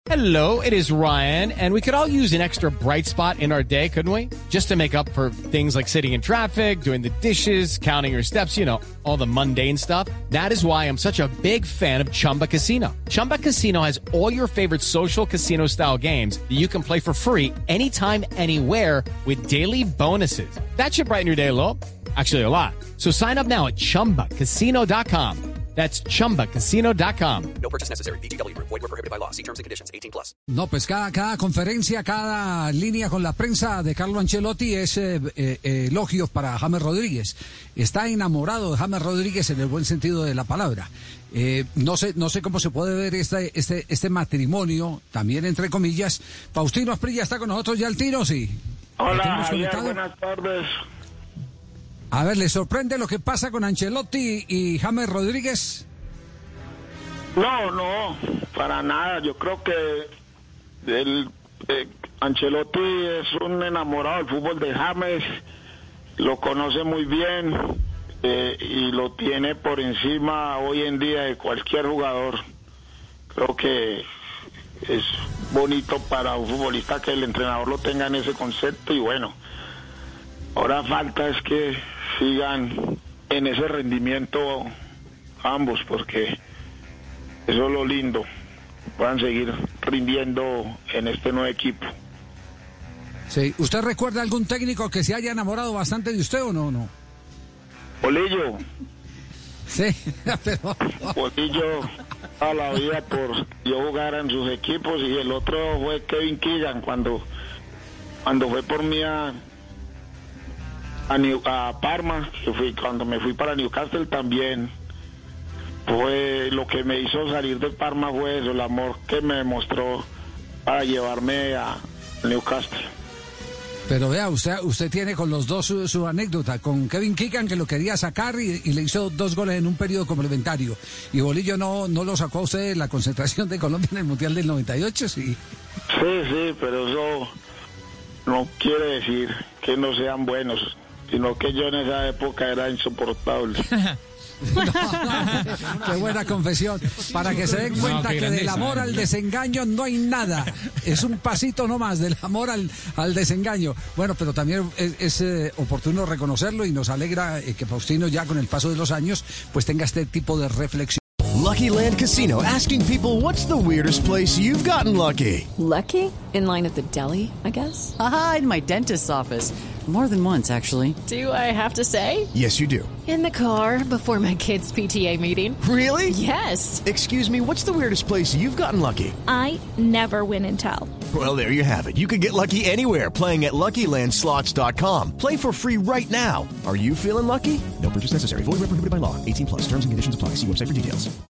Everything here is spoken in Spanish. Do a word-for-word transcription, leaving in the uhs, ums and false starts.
Hello, it is Ryan, and we could all use an extra bright spot in our day, couldn't we? Just to make up for things like sitting in traffic, doing the dishes, counting your steps, you know, all the mundane stuff. That is why I'm such a big fan of Chumba Casino. Chumba Casino has all your favorite social casino-style games that you can play for free anytime, anywhere with daily bonuses. That should brighten your day a little. Actually, a lot. So sign up now at chumba casino dot com. That's chumba casino dot com. No purchase necessary. V G W Group. Void where prohibited by law. See terms and conditions. eighteen plus. No, pues cada, cada conferencia, cada línea con la prensa de Carlo Ancelotti es eh, eh, elogios para James Rodríguez. Está enamorado de James Rodríguez en el buen sentido de la palabra. Eh, no sé, no sé cómo se puede ver este, este, este matrimonio, también entre comillas. Faustino Asprilla está con nosotros ya al tiro, sí. Hola, Javier, buenas tardes. A ver, ¿le sorprende lo que pasa con Ancelotti y James Rodríguez? No, no, para nada. Yo creo que el, eh, Ancelotti es un enamorado del fútbol de James, lo conoce muy bien eh, y lo tiene por encima hoy en día de cualquier jugador. Creo que es bonito para un futbolista que el entrenador lo tenga en ese concepto y bueno, ahora falta es que sigan en ese rendimiento ambos, porque eso es lo lindo, puedan seguir rindiendo en este nuevo equipo. Sí, ¿usted recuerda algún técnico que se haya enamorado bastante de usted o no? no? Bolillo. Sí, pero... Bolillo a la vida por yo jugar en sus equipos y el otro fue Kevin Keegan cuando, cuando fue por mí a... A, New, a Parma, que fui, cuando me fui para Newcastle también fue lo que me hizo salir de Parma, fue eso, el amor que me demostró para llevarme a Newcastle. Pero vea, usted usted tiene con los dos su, su anécdota, con Kevin Keegan que lo quería sacar y, y le hizo dos goles en un periodo complementario, y Bolillo no, no lo sacó a usted de la concentración de Colombia en el Mundial del noventa y ocho, sí. Sí, sí, pero eso no quiere decir que no sean buenos, sino que yo en esa época era insoportable. No, no, qué buena confesión, para que se den cuenta no, que del amor al desengaño no hay nada, es un pasito nomás del amor al, al desengaño. Bueno, pero también es, es eh, oportuno reconocerlo y nos alegra eh, que Faustino ya con el paso de los años pues tenga este tipo de reflexión. Lucky Land Casino, asking people, what's the weirdest place you've gotten lucky? Lucky? In line at the deli, I guess? Aha, in my dentist's office. More than once, actually. Do I have to say? Yes, you do. In the car before my kids' P T A meeting. Really? Yes. Excuse me, what's the weirdest place you've gotten lucky? I never win and tell. Well, there you have it. You can get lucky anywhere, playing at Lucky Land Slots dot com. Play for free right now. Are you feeling lucky? No purchase necessary. Void where prohibited by law. eighteen plus. Terms and conditions apply. See website for details.